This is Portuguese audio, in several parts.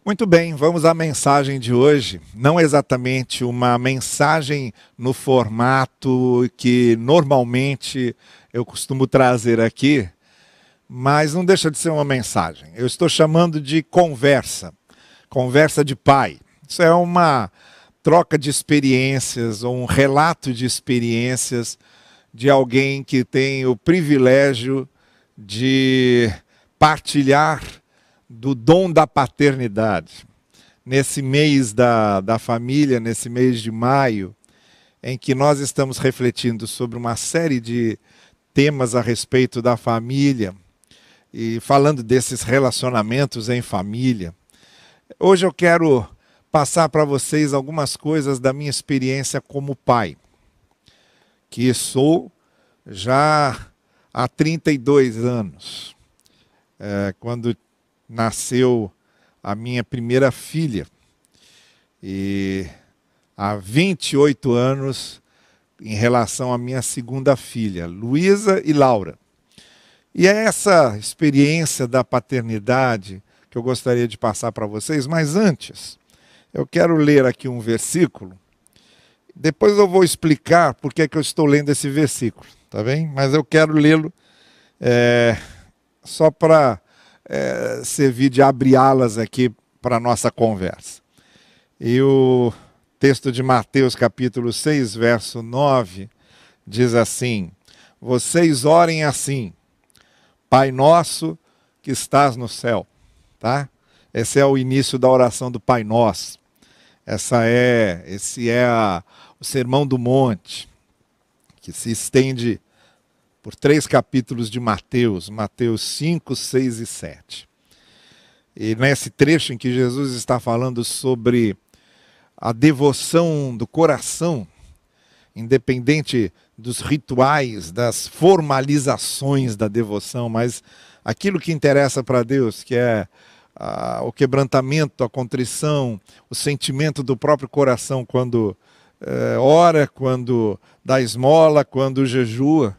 Muito bem, vamos à mensagem de hoje. Não exatamente uma mensagem no formato que normalmente eu costumo trazer aqui, mas não deixa de ser uma mensagem. Eu estou chamando de conversa, conversa de pai. Isso é uma troca de experiências ou um relato de experiências de alguém que tem o privilégio de partilhar do dom da paternidade. Nesse mês da família, nesse mês de maio, em que nós estamos refletindo sobre uma série de temas a respeito da família e falando desses relacionamentos em família, hoje eu quero passar para vocês algumas coisas da minha experiência como pai, que sou já há 32 anos. Quando nasceu a minha primeira filha, e há 28 anos em relação à minha segunda filha, Luísa e Laura. E é essa experiência da paternidade que eu gostaria de passar para vocês, mas antes, eu quero ler aqui um versículo, depois eu vou explicar por que eu estou lendo esse versículo, tá bem? Mas eu quero lê-lo só para servir de abrir alas aqui para a nossa conversa. E o texto de Mateus capítulo 6, verso 9, diz assim: vocês orem assim, Pai nosso que estás no céu. Tá? Esse é o início da oração do Pai Nosso. Esse é o Sermão do Monte, que se estende por 3 capítulos de Mateus, Mateus 5, 6 e 7. E nesse trecho em que Jesus está falando sobre a devoção do coração, independente dos rituais, das formalizações da devoção, mas aquilo que interessa para Deus, que é o quebrantamento, a contrição, o sentimento do próprio coração quando ora, quando dá esmola, quando jejua.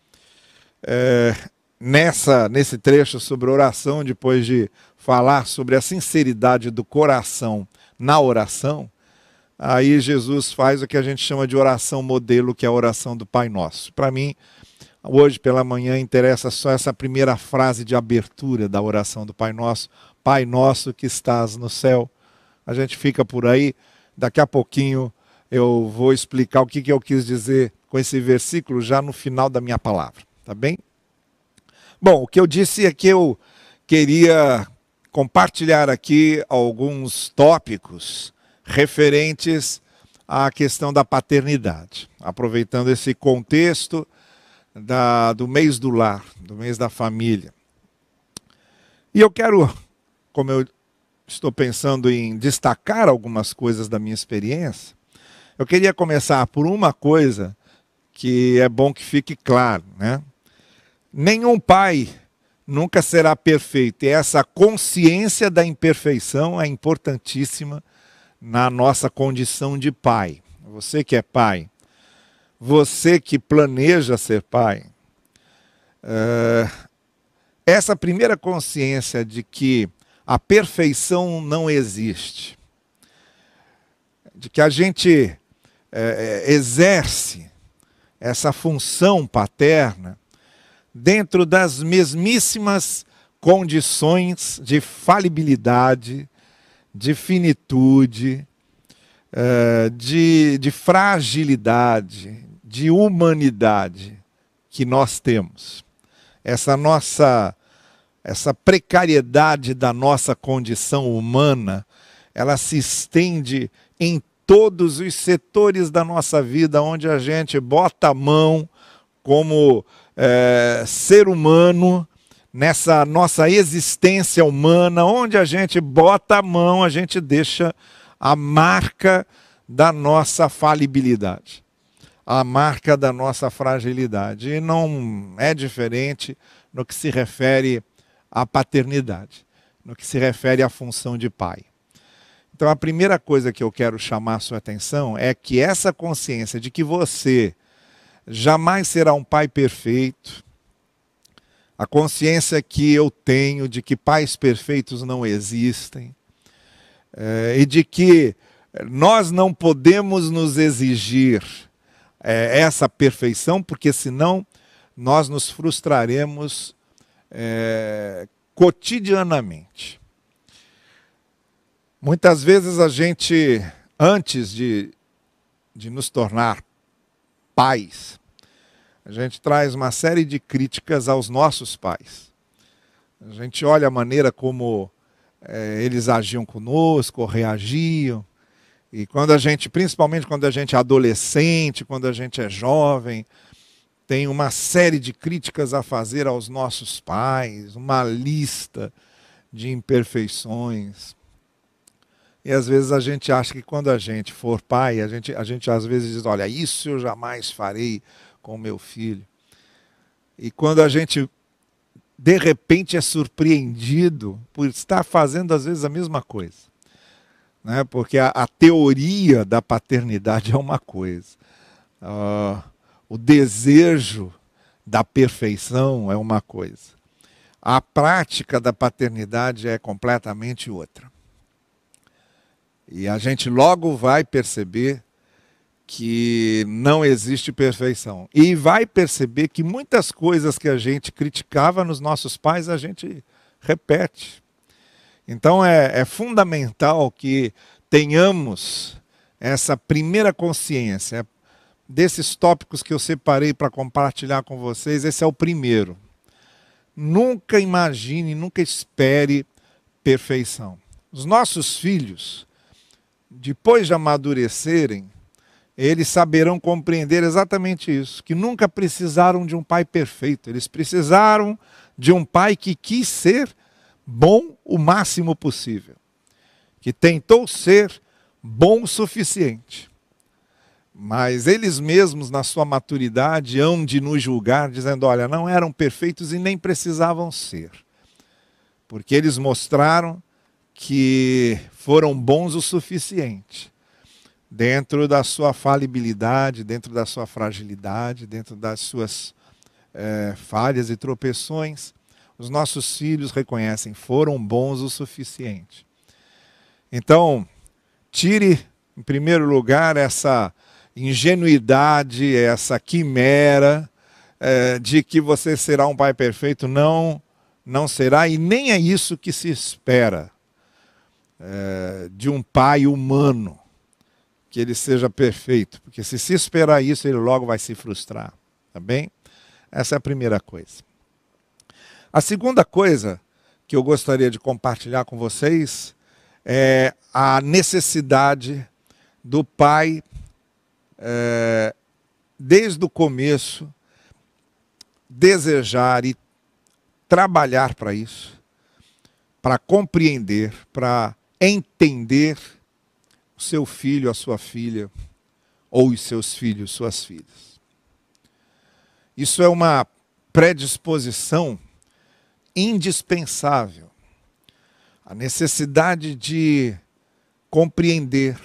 Nesse trecho sobre oração, depois de falar sobre a sinceridade do coração na oração, aí Jesus faz o que a gente chama de oração modelo, que é a oração do Pai Nosso. Para mim, hoje pela manhã, interessa só essa primeira frase de abertura da oração do Pai Nosso: Pai Nosso que estás no céu. A gente fica por aí, daqui a pouquinho eu vou explicar o que eu quis dizer com esse versículo já no final da minha palavra. Tá bem? Bom, o que eu disse é que eu queria compartilhar aqui alguns tópicos referentes à questão da paternidade, aproveitando esse contexto do mês do lar, do mês da família. E eu quero, como eu estou pensando em destacar algumas coisas da minha experiência, eu queria começar por uma coisa que é bom que fique claro, né? Nenhum pai nunca será perfeito, e essa consciência da imperfeição é importantíssima na nossa condição de pai. Você que é pai, você que planeja ser pai, essa primeira consciência de que a perfeição não existe, de que a gente exerce essa função paterna dentro das mesmíssimas condições de falibilidade, de finitude, de fragilidade, de humanidade que nós temos. Essa precariedade da nossa condição humana, ela se estende em todos os setores da nossa vida, onde a gente bota a mão como ser humano, nessa nossa existência humana, onde a gente bota a mão, a gente deixa a marca da nossa falibilidade, a marca da nossa fragilidade. E não é diferente no que se refere à paternidade, no que se refere à função de pai. Então a primeira coisa que eu quero chamar a sua atenção é que essa consciência de que você jamais será um pai perfeito, a consciência que eu tenho de que pais perfeitos não existem, e de que nós não podemos nos exigir essa perfeição, porque senão nós nos frustraremos cotidianamente. Muitas vezes a gente, antes de nos tornar pais, a gente traz uma série de críticas aos nossos pais. A gente olha a maneira como eles agiam conosco, reagiam. E quando a gente, principalmente quando a gente é adolescente, quando a gente é jovem, tem uma série de críticas a fazer aos nossos pais, uma lista de imperfeições. E às vezes a gente acha que quando a gente for pai, a gente às vezes diz, olha, isso eu jamais farei com meu filho. E quando a gente, de repente, é surpreendido por estar fazendo às vezes a mesma coisa. Né? Porque a teoria da paternidade é uma coisa. O desejo da perfeição é uma coisa. A prática da paternidade é completamente outra. E a gente logo vai perceber que não existe perfeição. E vai perceber que muitas coisas que a gente criticava nos nossos pais, a gente repete. Então é fundamental que tenhamos essa primeira consciência. Desses tópicos que eu separei para compartilhar com vocês, esse é o primeiro. Nunca imagine, nunca espere perfeição. Os nossos filhos, depois de amadurecerem, eles saberão compreender exatamente isso, que nunca precisaram de um pai perfeito. Eles precisaram de um pai que quis ser bom o máximo possível, que tentou ser bom o suficiente. Mas eles mesmos, na sua maturidade, hão de nos julgar, dizendo, olha, não eram perfeitos e nem precisavam ser. Porque eles mostraram que foram bons o suficiente. Dentro da sua falibilidade, dentro da sua fragilidade, dentro das suas falhas e tropeções, os nossos filhos reconhecem, foram bons o suficiente. Então, tire, em primeiro lugar, essa ingenuidade, essa quimera de que você será um pai perfeito. Não será, e nem é isso que se espera de um pai humano, que ele seja perfeito, porque se esperar isso, ele logo vai se frustrar, tá bem? Essa é a primeira coisa. A segunda coisa que eu gostaria de compartilhar com vocês é a necessidade do pai, desde o começo, desejar e trabalhar para isso, para compreender, para entender o seu filho, a sua filha, ou os seus filhos, suas filhas. Isso é uma predisposição indispensável. A necessidade de compreender,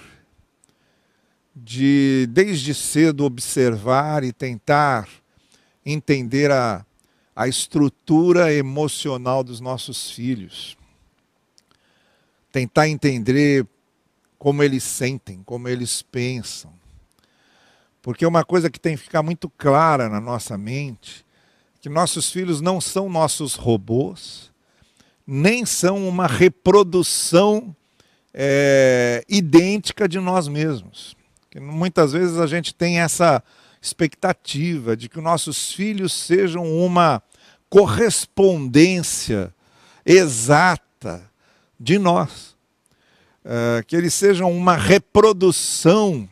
de desde cedo observar e tentar entender a estrutura emocional dos nossos filhos. Tentar entender como eles sentem, como eles pensam. Porque uma coisa que tem que ficar muito clara na nossa mente, que nossos filhos não são nossos robôs, nem são uma reprodução idêntica de nós mesmos. Que muitas vezes a gente tem essa expectativa de que nossos filhos sejam uma correspondência exata de nós. Que eles sejam uma reprodução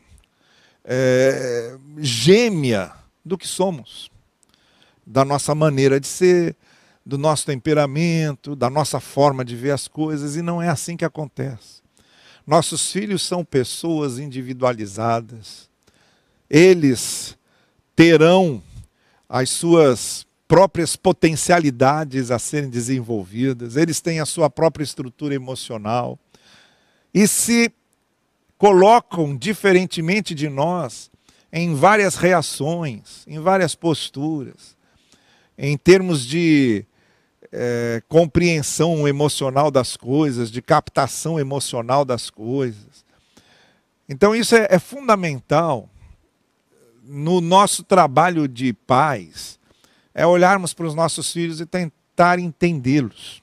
gêmea do que somos, da nossa maneira de ser, do nosso temperamento, da nossa forma de ver as coisas, e não é assim que acontece. Nossos filhos são pessoas individualizadas, eles terão as suas próprias potencialidades a serem desenvolvidas, eles têm a sua própria estrutura emocional, e se colocam diferentemente de nós em várias reações, em várias posturas, em termos de compreensão emocional das coisas, de captação emocional das coisas. Então isso é fundamental no nosso trabalho de pais, é olharmos para os nossos filhos e tentar entendê-los.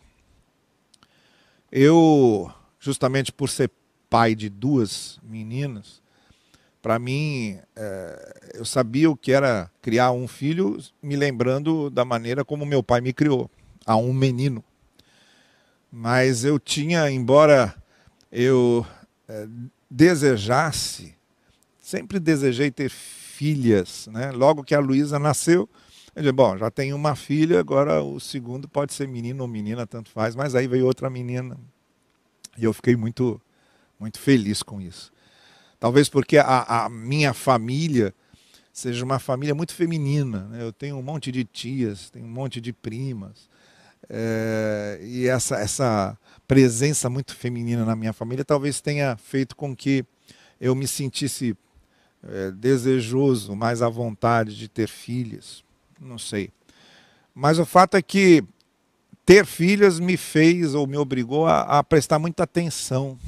Eu, justamente por ser pai de duas meninas, para mim, eu sabia o que era criar um filho, me lembrando da maneira como meu pai me criou, a um menino. Mas eu tinha, embora eu desejasse, sempre desejei ter filhas, né? Logo que a Luísa nasceu, eu disse, bom, já tenho uma filha, agora o segundo pode ser menino ou menina, tanto faz, mas aí veio outra menina. E eu fiquei muito, muito feliz com isso. Talvez porque a minha família seja uma família muito feminina, né? Eu tenho um monte de tias, tenho um monte de primas. E essa presença muito feminina na minha família talvez tenha feito com que eu me sentisse desejoso, mais à vontade de ter filhas. Não sei. Mas o fato é que ter filhas me fez ou me obrigou a prestar muita atenção,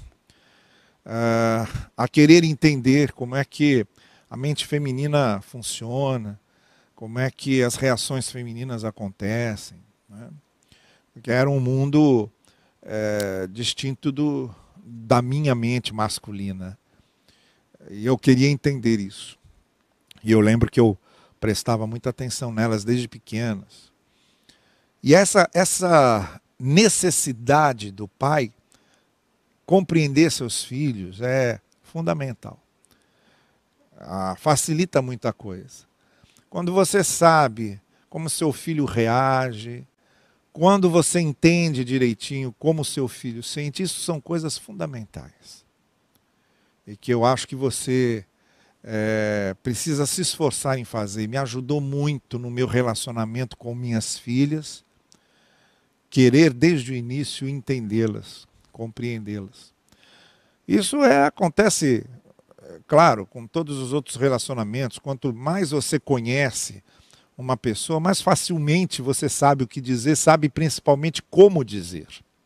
a querer entender como é que a mente feminina funciona, como é que as reações femininas acontecem, né? Porque era um mundo distinto da minha mente masculina. E eu queria entender isso. E eu lembro que eu prestava muita atenção nelas desde pequenas. E essa necessidade do pai compreender seus filhos é fundamental. Facilita muita coisa. Quando você sabe como seu filho reage, quando você entende direitinho como seu filho sente, isso são coisas fundamentais. E que eu acho que você precisa se esforçar em fazer. Me ajudou muito no meu relacionamento com minhas filhas, querer desde o início entendê-las, compreendê-las. Isso acontece, claro, com todos os outros relacionamentos. Quanto mais você conhece uma pessoa, mais facilmente você sabe o que dizer, sabe principalmente como dizer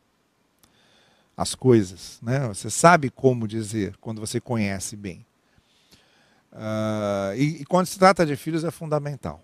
as coisas, né? Você sabe como dizer quando você conhece bem. E quando se trata de filhos é fundamental.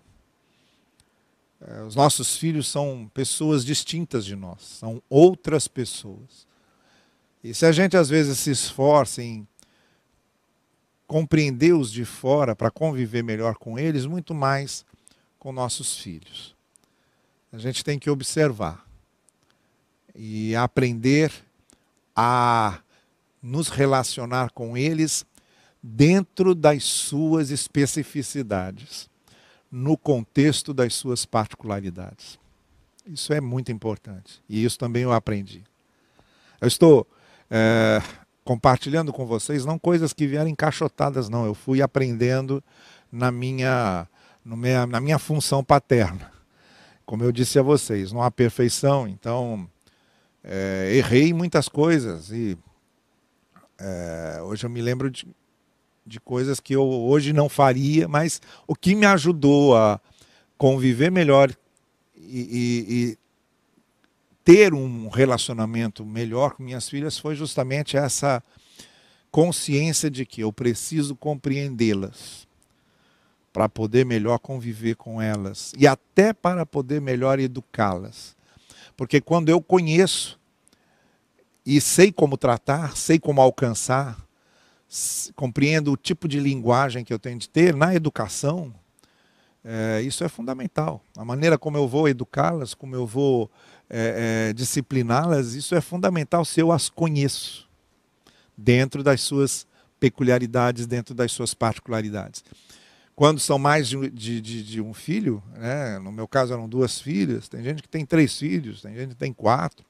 Os nossos filhos são pessoas distintas de nós, são outras pessoas. E se a gente às vezes se esforça em compreender-os de fora para conviver melhor com eles, muito mais com nossos filhos. A gente tem que observar e aprender a nos relacionar com eles dentro das suas especificidades, no contexto das suas particularidades. Isso é muito importante e isso também eu aprendi. Eu estou compartilhando com vocês não coisas que vieram encaixotadas, não. Eu fui aprendendo na minha função paterna. Como eu disse a vocês, não há perfeição, então errei em muitas coisas e hoje eu me lembro de coisas que eu hoje não faria, mas o que me ajudou a conviver melhor e ter um relacionamento melhor com minhas filhas foi justamente essa consciência de que eu preciso compreendê-las para poder melhor conviver com elas e até para poder melhor educá-las. Porque quando eu conheço e sei como tratar, sei como alcançar, compreendo o tipo de linguagem que eu tenho de ter na educação, isso é fundamental. A maneira como eu vou educá-las, como eu vou discipliná-las, isso é fundamental se eu as conheço, dentro das suas peculiaridades, dentro das suas particularidades. Quando são mais de um filho, né? No meu caso eram 2 filhas, tem gente que tem 3 filhos, tem gente que tem 4,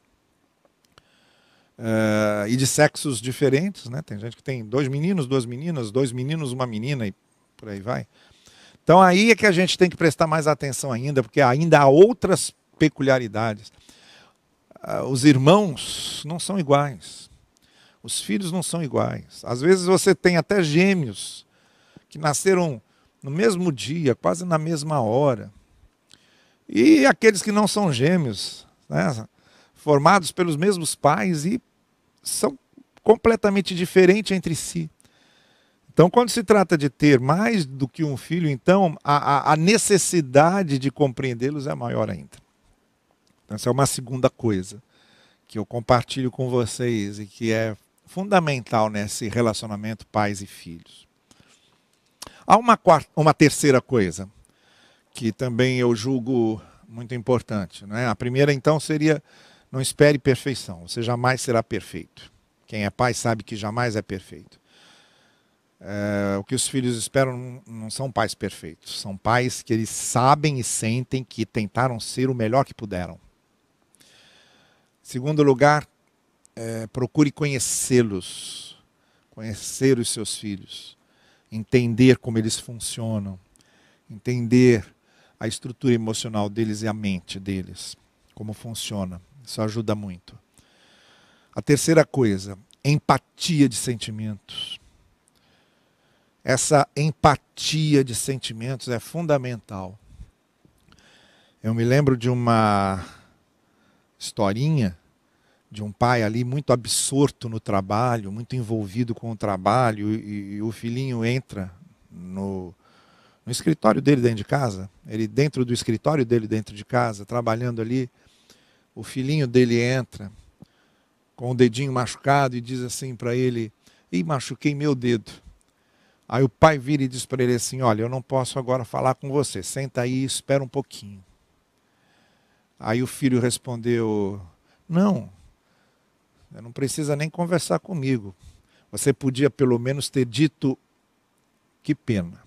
e de sexos diferentes, né? Tem gente que tem 2 meninos, 2 meninas, 2 meninos, 1 menina e por aí vai. Então aí é que a gente tem que prestar mais atenção ainda, porque ainda há outras peculiaridades. Os irmãos não são iguais, os filhos não são iguais. Às vezes você tem até gêmeos que nasceram no mesmo dia, quase na mesma hora. E aqueles que não são gêmeos, né? Formados pelos mesmos pais e são completamente diferentes entre si. Então, quando se trata de ter mais do que um filho, então a necessidade de compreendê-los é maior ainda. Então, essa é uma segunda coisa que eu compartilho com vocês e que é fundamental nesse relacionamento pais e filhos. Há uma terceira coisa que também eu julgo muito importante, né? A primeira, então, seria: não espere perfeição, você jamais será perfeito. Quem é pai sabe que jamais é perfeito. O que os filhos esperam não são pais perfeitos, são pais que eles sabem e sentem que tentaram ser o melhor que puderam. Segundo lugar, procure conhecê-los, conhecer os seus filhos, entender como eles funcionam, entender a estrutura emocional deles e a mente deles, como funciona. Isso ajuda muito. A terceira coisa, empatia de sentimentos. Essa empatia de sentimentos é fundamental. Eu me lembro de uma historinha de um pai ali muito absorto no trabalho, muito envolvido com o trabalho, e o filhinho entra no escritório dele dentro de casa, ele dentro do escritório dele dentro de casa, trabalhando ali, o filhinho dele entra com o dedinho machucado e diz assim para ele: "Ih, machuquei meu dedo". Aí o pai vira e diz para ele assim: "Olha, eu não posso agora falar com você, senta aí e espera um pouquinho". Aí o filho respondeu: "Não, você não precisa nem conversar comigo. Você podia pelo menos ter dito que pena".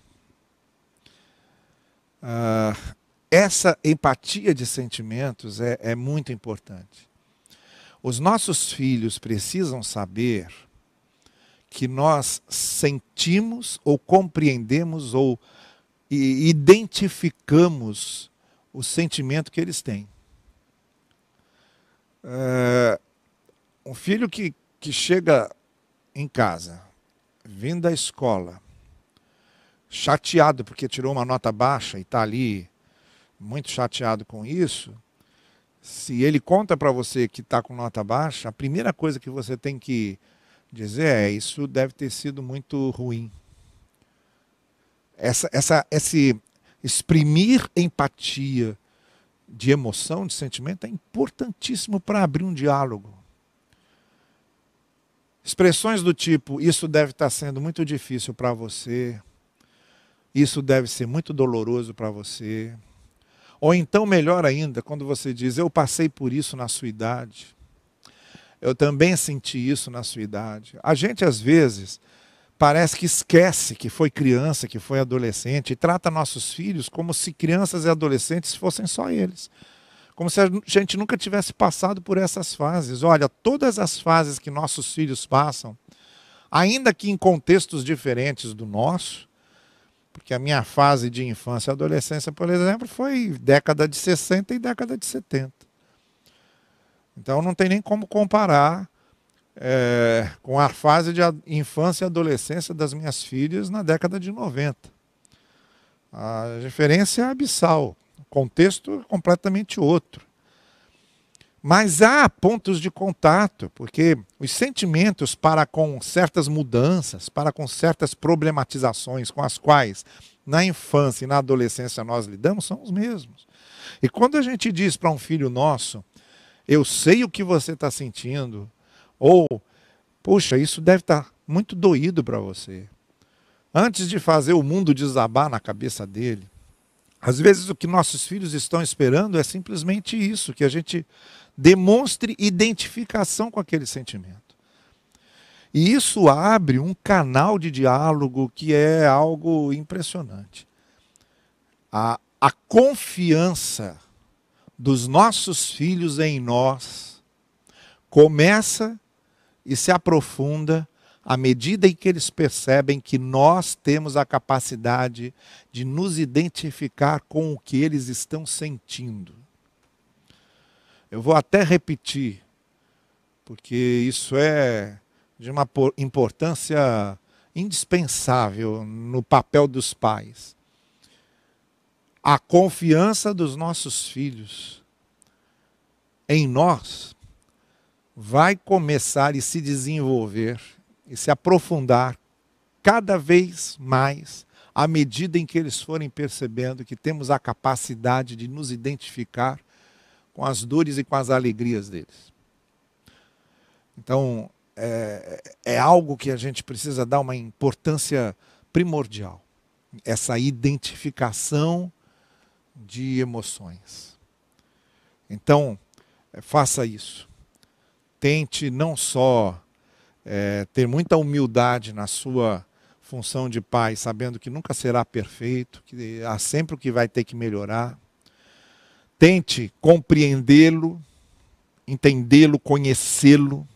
Essa empatia de sentimentos é muito importante. Os nossos filhos precisam saber que nós sentimos ou compreendemos ou identificamos o sentimento que eles têm. Um filho que chega em casa, vindo da escola, chateado porque tirou uma nota baixa e está ali muito chateado com isso, se ele conta para você que está com nota baixa, a primeira coisa que você tem que dizer é: isso deve ter sido muito ruim. Esse exprimir empatia de emoção, de sentimento, é importantíssimo para abrir um diálogo. Expressões do tipo: isso deve estar sendo muito difícil para você, isso deve ser muito doloroso para você. Ou então, melhor ainda, quando você diz: eu passei por isso na sua idade, eu também senti isso na sua idade. A gente, às vezes, parece que esquece que foi criança, que foi adolescente, e trata nossos filhos como se crianças e adolescentes fossem só eles. Como se a gente nunca tivesse passado por essas fases. Olha, todas as fases que nossos filhos passam, ainda que em contextos diferentes do nosso, porque a minha fase de infância e adolescência, por exemplo, foi década de 60 e década de 70. Então não tem nem como comparar com a fase de infância e adolescência das minhas filhas na década de 90. A diferença é abissal, o contexto é completamente outro. Mas há pontos de contato, porque os sentimentos para com certas mudanças, para com certas problematizações com as quais na infância e na adolescência nós lidamos, são os mesmos. E quando a gente diz para um filho nosso: eu sei o que você está sentindo, ou, puxa, isso deve estar muito doído para você, antes de fazer o mundo desabar na cabeça dele, às vezes o que nossos filhos estão esperando é simplesmente isso, que a gente demonstre identificação com aquele sentimento. E isso abre um canal de diálogo que é algo impressionante. A confiança dos nossos filhos em nós começa e se aprofunda à medida em que eles percebem que nós temos a capacidade de nos identificar com o que eles estão sentindo. Eu vou até repetir, porque isso é de uma importância indispensável no papel dos pais. A confiança dos nossos filhos em nós vai começar e se desenvolver e se aprofundar cada vez mais à medida em que eles forem percebendo que temos a capacidade de nos identificar com as dores e com as alegrias deles. Então, é algo que a gente precisa dar uma importância primordial, essa identificação de emoções. Então, faça isso. Tente não só ter muita humildade na sua função de pai, sabendo que nunca será perfeito, que há sempre o que vai ter que melhorar. Tente compreendê-lo, entendê-lo, conhecê-lo,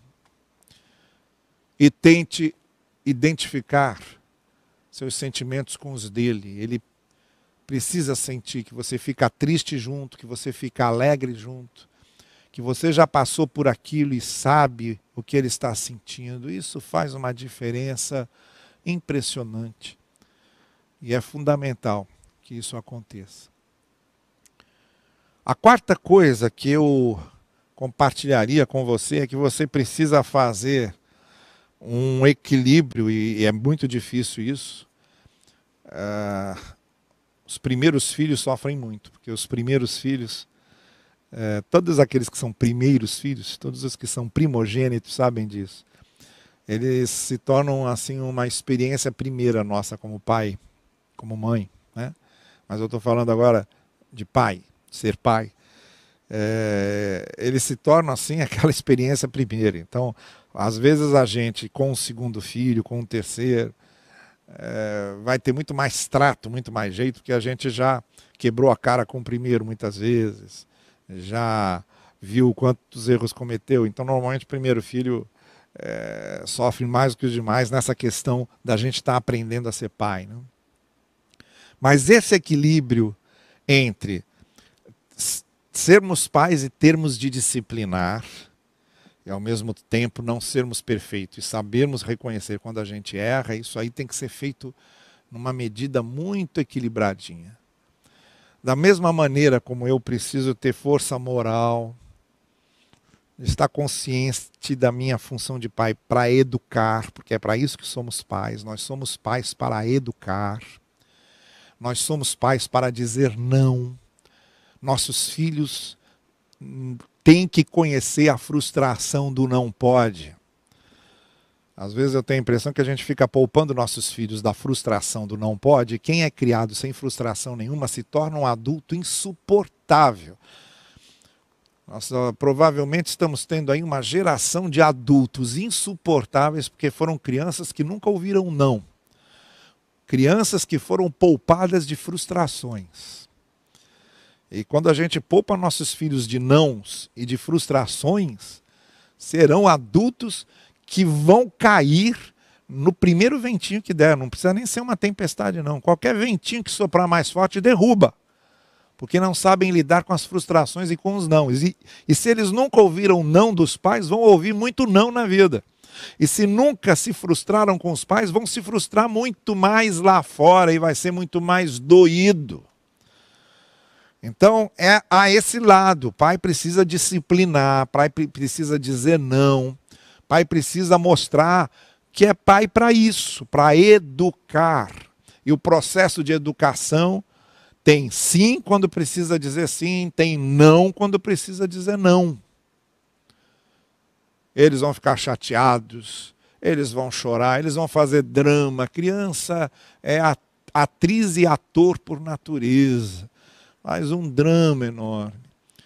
e tente identificar seus sentimentos com os dele. Ele precisa sentir que você fica triste junto, que você fica alegre junto, que você já passou por aquilo e sabe o que ele está sentindo. Isso faz uma diferença impressionante. E é fundamental que isso aconteça. A quarta coisa que eu compartilharia com você é que você precisa fazer um equilíbrio, e é muito difícil isso. Os primeiros filhos sofrem muito, porque os primeiros filhos, todos aqueles que são primeiros filhos, todos os que são primogênitos sabem disso. Eles se tornam assim uma experiência primeira nossa como pai, como mãe, né? Mas eu estou falando agora de pai, ser pai. Eles se tornam assim aquela experiência primeira. Então, às vezes a gente com o segundo filho, com o terceiro, vai ter muito mais trato, muito mais jeito, porque a gente já quebrou a cara com o primeiro muitas vezes, já viu quantos erros cometeu. Então, normalmente o primeiro filho sofre mais do que os demais nessa questão da gente estar aprendendo a ser pai, né? Mas esse equilíbrio entre sermos pais e termos de disciplinar, e ao mesmo tempo não sermos perfeitos e sabermos reconhecer quando a gente erra, isso aí tem que ser feito numa medida muito equilibradinha. Da mesma maneira como eu preciso ter força moral, estar consciente da minha função de pai para educar, porque é para isso que somos pais. Nós somos pais para educar, nós somos pais para dizer não. Nossos filhos têm que conhecer a frustração do não pode. Às vezes eu tenho a impressão que a gente fica poupando nossos filhos da frustração do não pode, e quem é criado sem frustração nenhuma se torna um adulto insuportável. Nós provavelmente estamos tendo aí uma geração de adultos insuportáveis porque foram crianças que nunca ouviram não. Crianças que foram poupadas de frustrações. E quando a gente poupa nossos filhos de nãos e de frustrações, serão adultos que vão cair no primeiro ventinho que der. Não precisa nem ser uma tempestade, não. Qualquer ventinho que soprar mais forte derruba. Porque não sabem lidar com as frustrações e com os não. E se eles nunca ouviram não dos pais, vão ouvir muito não na vida. E se nunca se frustraram com os pais, vão se frustrar muito mais lá fora e vai ser muito mais doído. Então, a esse lado, o pai precisa disciplinar, pai precisa dizer não, pai precisa mostrar que é pai para isso, para educar. E o processo de educação tem sim quando precisa dizer sim, tem não quando precisa dizer não. Eles vão ficar chateados, eles vão chorar, eles vão fazer drama. Criança é atriz e ator por natureza. Faz um drama enorme.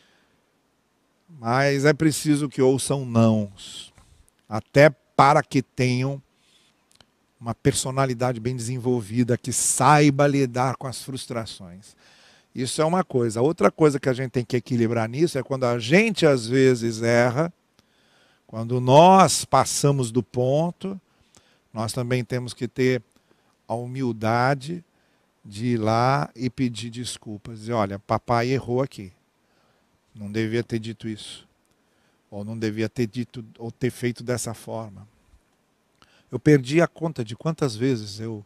Mas é preciso que ouçam nãos, até para que tenham uma personalidade bem desenvolvida, que saiba lidar com as frustrações. Isso é uma coisa. Outra coisa que a gente tem que equilibrar nisso é quando a gente às vezes erra, quando nós passamos do ponto, nós também temos que ter a humildade de ir lá e pedir desculpas. Dizer, olha, papai errou aqui. Não devia ter dito isso. Ou não devia ter dito ou ter feito dessa forma. Eu perdi a conta de quantas vezes eu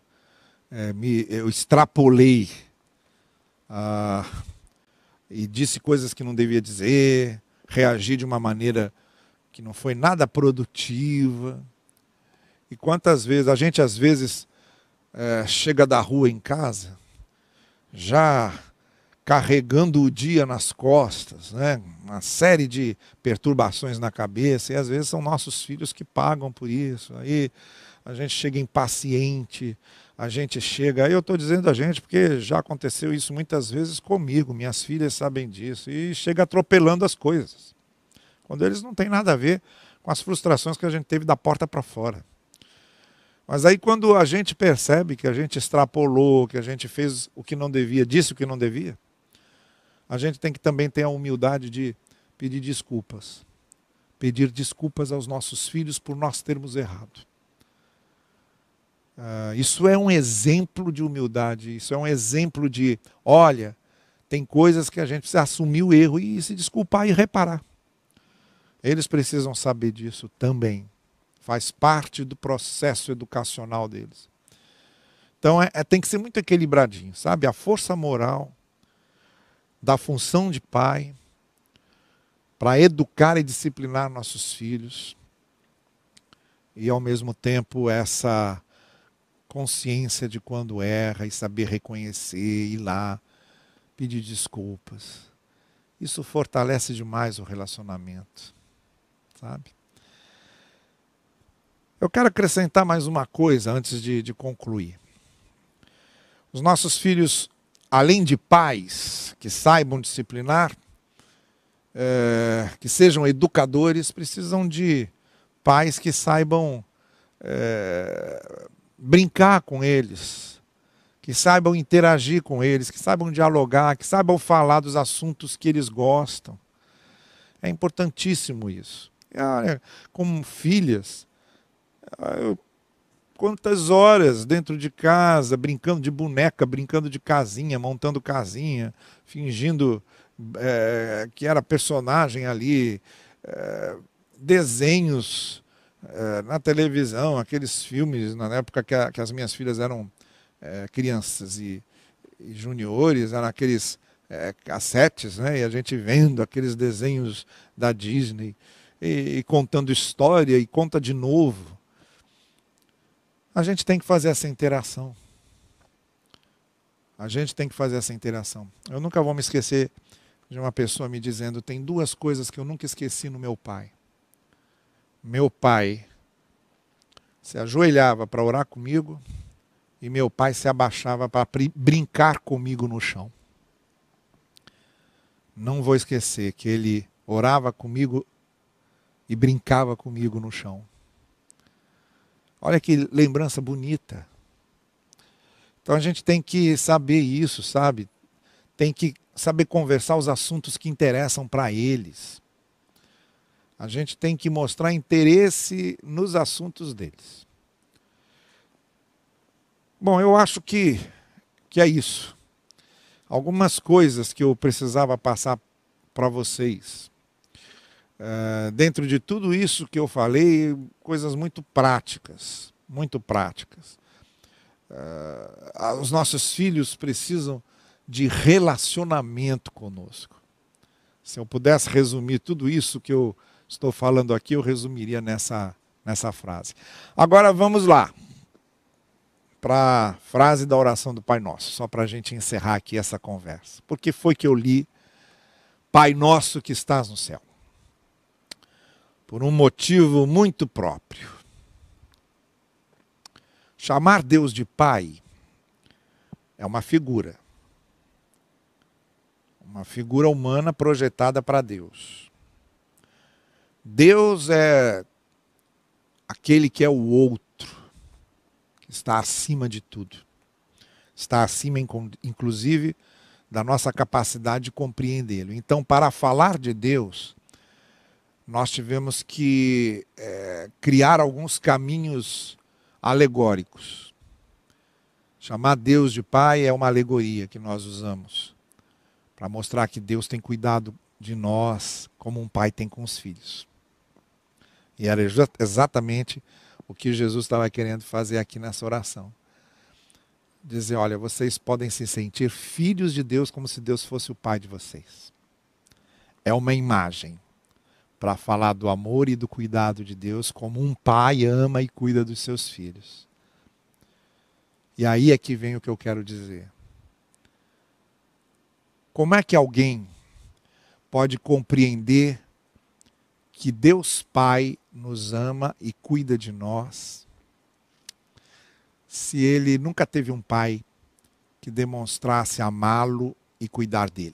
extrapolei e disse coisas que não devia dizer, reagir de uma maneira que não foi nada produtiva. E quantas vezes, a gente às vezes chega da rua em casa, já carregando o dia nas costas, né? Uma série de perturbações na cabeça, e às vezes são nossos filhos que pagam por isso. Aí a gente chega impaciente, a gente chega, eu estou dizendo a gente porque já aconteceu isso muitas vezes comigo, minhas filhas sabem disso, e chega atropelando as coisas, quando eles não têm nada a ver com as frustrações que a gente teve da porta para fora. Mas aí quando a gente percebe que a gente extrapolou, que a gente fez o que não devia, disse o que não devia, a gente tem que também ter a humildade de pedir desculpas. Pedir desculpas aos nossos filhos por nós termos errado. Isso é um exemplo de humildade, isso é um exemplo de, olha, tem coisas que a gente precisa assumir o erro e se desculpar e reparar. Eles precisam saber disso também. Faz parte do processo educacional deles. Então tem que ser muito equilibradinho, sabe? A força moral da função de pai para educar e disciplinar nossos filhos e ao mesmo tempo essa consciência de quando erra e saber reconhecer, ir lá, pedir desculpas. Isso fortalece demais o relacionamento, sabe? Eu quero acrescentar mais uma coisa antes de concluir. Os nossos filhos, além de pais que saibam disciplinar, que sejam educadores, precisam de pais que saibam brincar com eles, que saibam interagir com eles, que saibam dialogar, que saibam falar dos assuntos que eles gostam. É importantíssimo isso. Como filhas, quantas horas dentro de casa, brincando de boneca, brincando de casinha, montando casinha, fingindo que era personagem ali, desenhos na televisão, aqueles filmes, na época que as minhas filhas eram crianças e juniores, eram aqueles cassetes, né? E a gente vendo aqueles desenhos da Disney e contando história e conta de novo. A gente tem que fazer essa interação. A gente tem que fazer essa interação. Eu nunca vou me esquecer de uma pessoa me dizendo: tem duas coisas que eu nunca esqueci no meu pai. Meu pai se ajoelhava para orar comigo e meu pai se abaixava para brincar comigo no chão. Não vou esquecer que ele orava comigo e brincava comigo no chão. Olha que lembrança bonita. Então a gente tem que saber isso, sabe? Tem que saber conversar os assuntos que interessam para eles. A gente tem que mostrar interesse nos assuntos deles. Bom, eu acho que é isso. Algumas coisas que eu precisava passar para vocês. Dentro de tudo isso que eu falei, coisas muito práticas, muito práticas. Os nossos filhos precisam de relacionamento conosco. Se eu pudesse resumir tudo isso que eu estou falando aqui, eu resumiria nessa frase. Agora vamos lá, para a frase da oração do Pai Nosso, só para a gente encerrar aqui essa conversa. Por que foi que eu li Pai Nosso que estás no céu? Por um motivo muito próprio. Chamar Deus de Pai é uma figura humana projetada para Deus. Deus é aquele que é o outro, que está acima de tudo. Está acima, inclusive, da nossa capacidade de compreendê-lo. Então, para falar de Deus, nós tivemos que criar alguns caminhos alegóricos. Chamar Deus de Pai é uma alegoria que nós usamos para mostrar que Deus tem cuidado de nós como um pai tem com os filhos. E era exatamente o que Jesus estava querendo fazer aqui nessa oração. Dizer, olha, vocês podem se sentir filhos de Deus como se Deus fosse o pai de vocês. É uma imagem. para falar do amor e do cuidado de Deus, como um pai ama e cuida dos seus filhos. E aí é que vem o que eu quero dizer. Como é que alguém pode compreender que Deus Pai nos ama e cuida de nós, se ele nunca teve um pai que demonstrasse amá-lo e cuidar dele?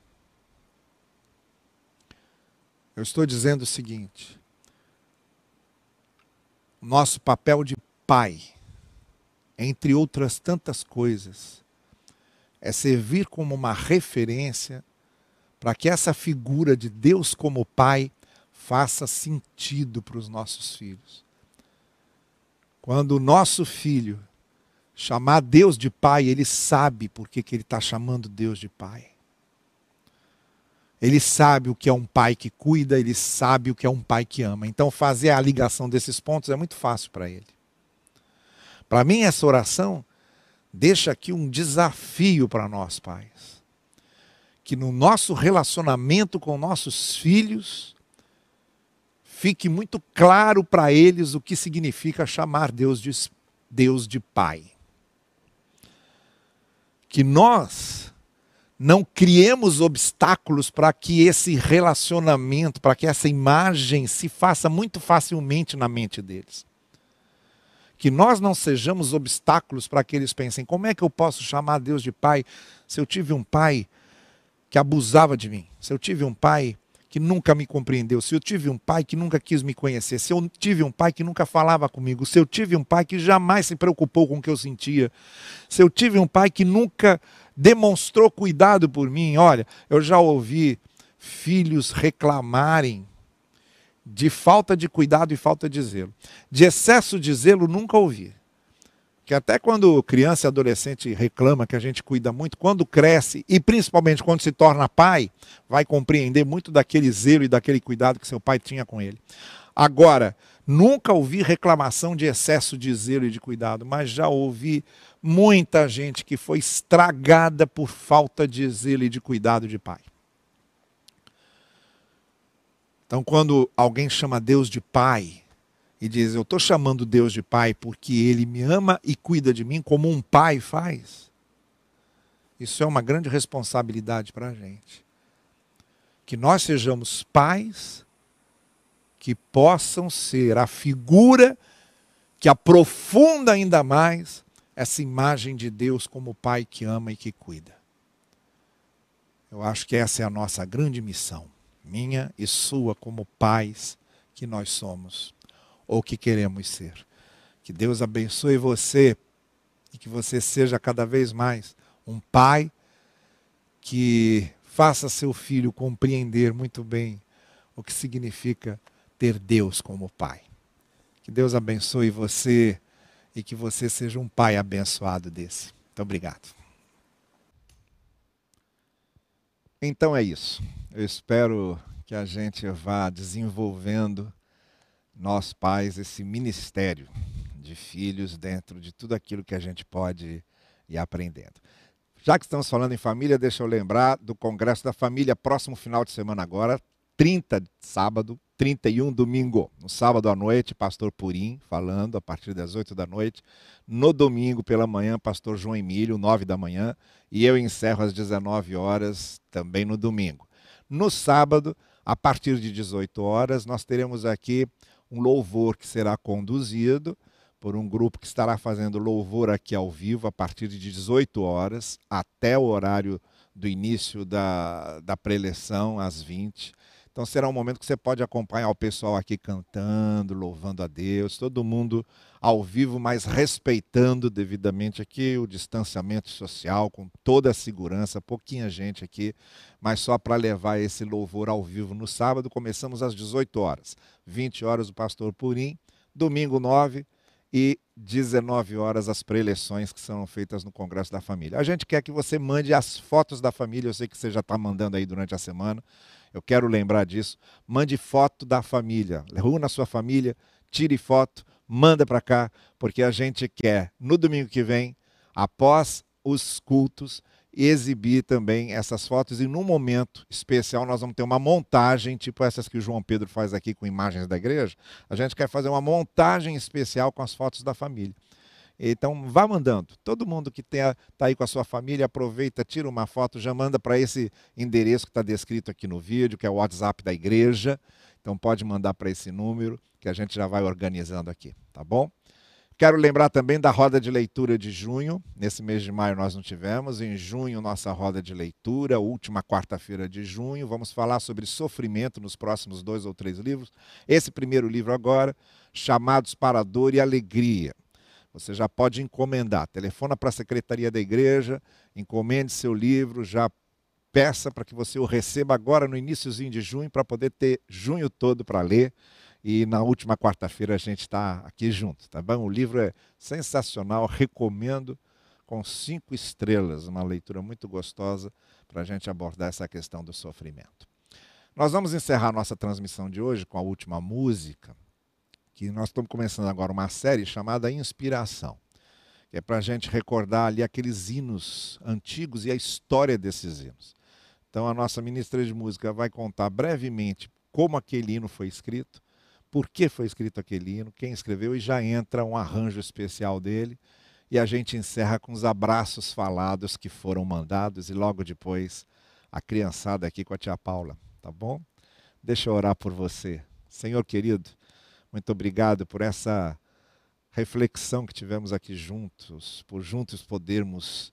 Eu estou dizendo o seguinte: nosso papel de pai, entre outras tantas coisas, é servir como uma referência para que essa figura de Deus como pai faça sentido para os nossos filhos. Quando o nosso filho chamar Deus de pai, ele sabe por que ele está chamando Deus de pai. Ele sabe o que é um pai que cuida, ele sabe o que é um pai que ama. Então fazer a ligação desses pontos é muito fácil para ele. Para mim, essa oração deixa aqui um desafio para nós pais. Que no nosso relacionamento com nossos filhos, fique muito claro para eles o que significa chamar Deus de pai. Que nós não criemos obstáculos para que esse relacionamento, para que essa imagem se faça muito facilmente na mente deles. Que nós não sejamos obstáculos para que eles pensem: como é que eu posso chamar Deus de pai se eu tive um pai que abusava de mim? Se eu tive um pai que nunca me compreendeu, se eu tive um pai que nunca quis me conhecer, se eu tive um pai que nunca falava comigo, se eu tive um pai que jamais se preocupou com o que eu sentia, se eu tive um pai que nunca demonstrou cuidado por mim. Olha, eu já ouvi filhos reclamarem de falta de cuidado e falta de zelo. De excesso de zelo nunca ouvi. Que até quando criança e adolescente reclama que a gente cuida muito, quando cresce e principalmente quando se torna pai, vai compreender muito daquele zelo e daquele cuidado que seu pai tinha com ele. Agora, nunca ouvi reclamação de excesso de zelo e de cuidado, mas já ouvi muita gente que foi estragada por falta de zelo e de cuidado de pai. Então, quando alguém chama Deus de pai e diz: eu estou chamando Deus de pai porque ele me ama e cuida de mim como um pai faz, isso é uma grande responsabilidade para a gente. Que nós sejamos pais que possam ser a figura que aprofunda ainda mais essa imagem de Deus como pai que ama e que cuida. Eu acho que essa é a nossa grande missão, minha e sua, como pais que nós somos, ou que queremos ser. Que Deus abençoe você e que você seja cada vez mais um pai que faça seu filho compreender muito bem o que significa ter Deus como pai. Que Deus abençoe você e que você seja um pai abençoado desse. Muito obrigado. Então é isso. Eu espero que a gente vá desenvolvendo, nós pais, esse ministério de filhos dentro de tudo aquilo que a gente pode ir aprendendo. Já que estamos falando em família, deixa eu lembrar do Congresso da Família, próximo final de semana agora, 30 sábado, 31 domingo. No sábado à noite, pastor Purim falando a partir das 8 da noite. No domingo pela manhã, pastor João Emílio, 9 da manhã. E eu encerro às 19 horas, também no domingo. No sábado, a partir de 18 horas, nós teremos aqui um louvor que será conduzido por um grupo que estará fazendo louvor aqui ao vivo a partir de 18 horas até o horário do início da preleção, às 20. Então será um momento que você pode acompanhar o pessoal aqui cantando, louvando a Deus, todo mundo ao vivo, mas respeitando devidamente aqui o distanciamento social, com toda a segurança, pouquinha gente aqui, mas só para levar esse louvor ao vivo no sábado. Começamos às 18 horas, 20 horas o pastor Purim, domingo 9 e 19 horas as preleções que são feitas no Congresso da Família. A gente quer que você mande as fotos da família, eu sei que você já está mandando aí durante a semana, eu quero lembrar disso. Mande foto da família, reúna a sua família, tire foto, manda para cá, porque a gente quer, no domingo que vem, após os cultos, exibir também essas fotos. E num momento especial nós vamos ter uma montagem, tipo essas que o João Pedro faz aqui com imagens da igreja. A gente quer fazer uma montagem especial com as fotos da família. Então, vá mandando. Todo mundo que está aí com a sua família, aproveita, tira uma foto, já manda para esse endereço que está descrito aqui no vídeo, que é o WhatsApp da igreja. Então, pode mandar para esse número, que a gente já vai organizando aqui, tá bom? Quero lembrar também da roda de leitura de junho. Nesse mês de maio nós não tivemos. Em junho, nossa roda de leitura, última quarta-feira de junho. Vamos falar sobre sofrimento nos próximos 2 ou 3 livros. Esse primeiro livro agora, Chamados para a Dor e Alegria. Você já pode encomendar. Telefona para a Secretaria da Igreja, encomende seu livro, já peça para que você o receba agora no iniciozinho de junho, para poder ter junho todo para ler. E na última quarta-feira a gente está aqui junto, tá bom? O livro é sensacional, recomendo, com 5 estrelas, uma leitura muito gostosa para a gente abordar essa questão do sofrimento. Nós vamos encerrar nossa transmissão de hoje com a última música, que nós estamos começando agora uma série chamada Inspiração, que é para a gente recordar ali aqueles hinos antigos e a história desses hinos. Então a nossa ministra de música vai contar brevemente como aquele hino foi escrito, por que foi escrito aquele hino, quem escreveu, e já entra um arranjo especial dele, e a gente encerra com os abraços falados que foram mandados, e logo depois a criançada aqui com a tia Paula, tá bom? Deixa eu orar por você. Senhor querido, muito obrigado por essa reflexão que tivemos aqui juntos, por juntos podermos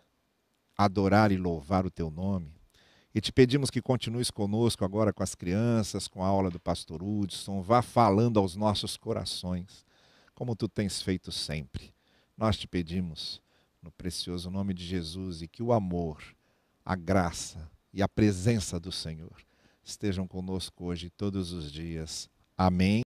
adorar e louvar o teu nome. E te pedimos que continues conosco agora com as crianças, com a aula do pastor Hudson, vá falando aos nossos corações, como tu tens feito sempre. Nós te pedimos, no precioso nome de Jesus, e que o amor, a graça e a presença do Senhor estejam conosco hoje e todos os dias. Amém.